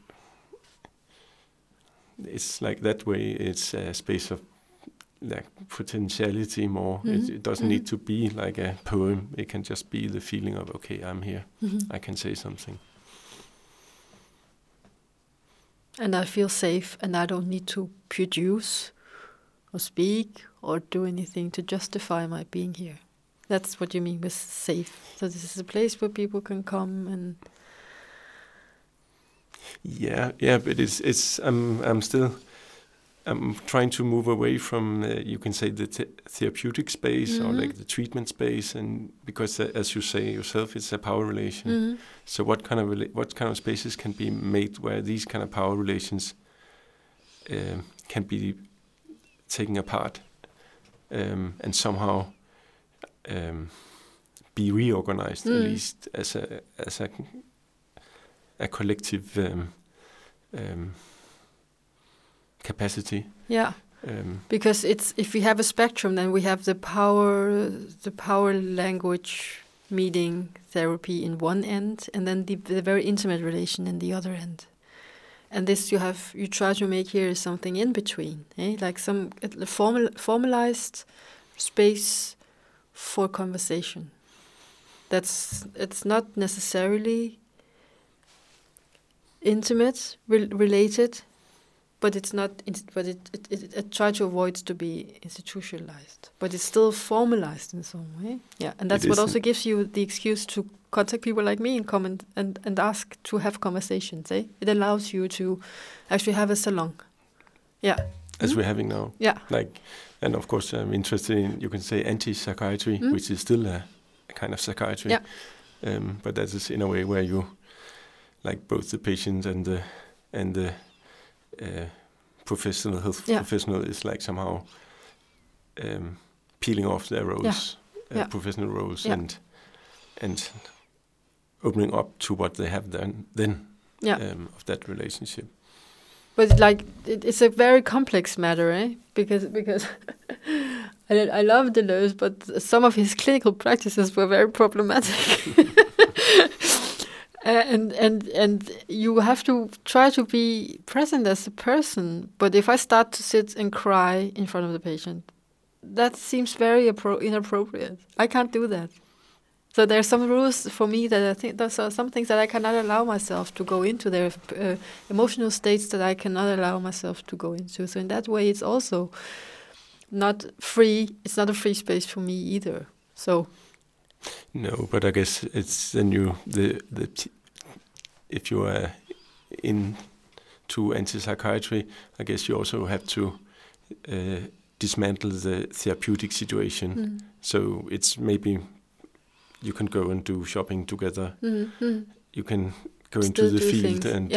it's like that way. It's a space of like potentiality more. It doesn't need to be like a poem. It can just be the feeling of, okay, I'm here. I can say something. And I feel safe, and I don't need to produce or speak or do anything to justify my being here. That's what you mean with safe. So this is a place where people can come and... Yeah, but I'm trying to move away from, you can say, the therapeutic space or like the treatment space, and because as you say yourself, it's a power relation. So what kind of spaces can be made where these kind of power relations can be taken apart and somehow be reorganized, at least as a collective capacity. Yeah, because if we have a spectrum, then we have the power language meeting therapy in one end, and then the very intimate relation in the other end. And this you try to make here is something in between, like some formalized space for conversation. It's not necessarily intimate, related, but it's not. But it tries to avoid to be institutionalized, but it's still formalized in some way. Yeah, and that's what also gives you the excuse to contact people like me and come and ask to have conversations. It allows you to actually have a salon. Yeah, as we're having now. Yeah, and of course I'm interested in, you can say, anti-psychiatry, which is still a kind of psychiatry. Yeah, but that is in a way where you, like, both the patient and the professional health professional is like somehow peeling off their roles, professional roles, and opening up to what they have then of that relationship. But it's a very complex matter, because I love Deleuze, but some of his clinical practices were very problematic. And you have to try to be present as a person. But if I start to sit and cry in front of the patient, that seems very inappropriate. I can't do that. So there are some rules for me that I think those are some things that I cannot allow myself to go into. There are emotional states that I cannot allow myself to go into. So in that way, it's also not free. It's not a free space for me either. So no, but I guess it's then if you are into anti-psychiatry, I guess you also have to dismantle the therapeutic situation. So it's maybe you can go and do shopping together. You can go into the field and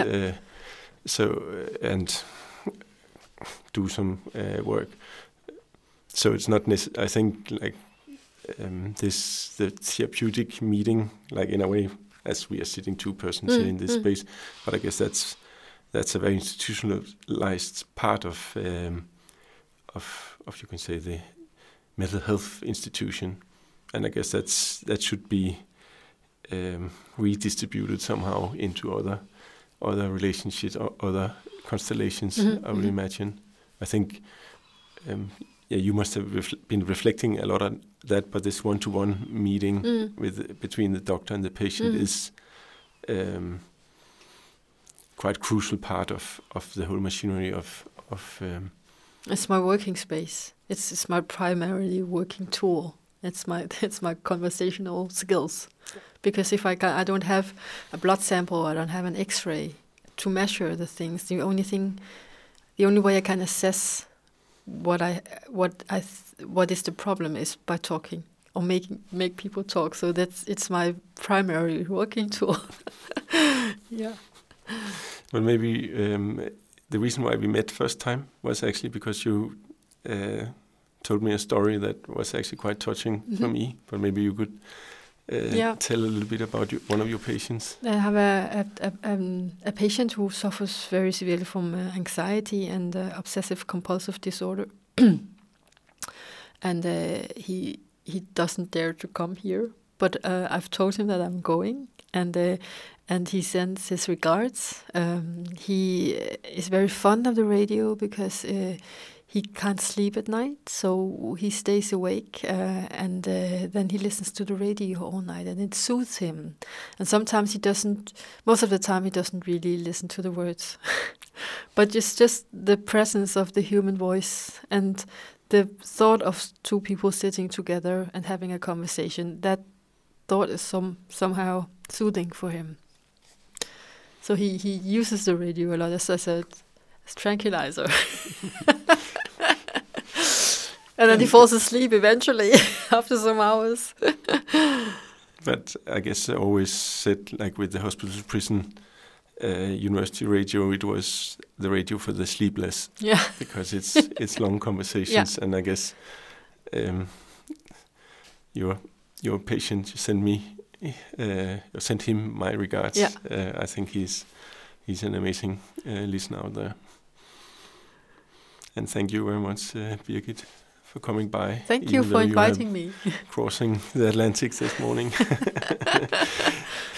and do some work. So it's not I think like the therapeutic meeting, like in a way, as we are sitting two persons here in this space, but I guess that's a very institutionalized part of you can say the mental health institution, and I guess that should be redistributed somehow into other relationships or other constellations. I would imagine. I think you must have been reflecting a lot on that, but this one-to-one meeting between the doctor and the patient is quite crucial part of the whole machinery of it's my working space. It's my primarily working tool. It's my conversational skills. Because if I don't have a blood sample, I don't have an X-ray to measure the things. The only way I can assess what is the problem is by talking or make people talk. So it's my primary working tool. Yeah. Well, maybe the reason why we met first time was actually because you told me a story that was actually quite touching for me. But maybe you could tell a little bit about one of your patients. I have a patient who suffers very severely from anxiety and obsessive compulsive disorder, and he doesn't dare to come here. But I've told him that I'm going, and he sends his regards. He is very fond of the radio because he can't sleep at night, so he stays awake, and then he listens to the radio all night, and it soothes him. And sometimes he doesn't. Most of the time, he doesn't really listen to the words, but it's just the presence of the human voice and the thought of two people sitting together and having a conversation. That thought is somehow soothing for him. So he uses the radio a lot as a tranquilizer. And then he falls asleep eventually after some hours. But I guess I always said, like with the hospital prison university radio, it was the radio for the sleepless. Yeah. Because it's long conversations, and I guess your patient sent him my regards. Yeah. I think he's an amazing listener out there. And thank you very much, Birgit, for coming by. Thank you for inviting me. Crossing the Atlantic this morning.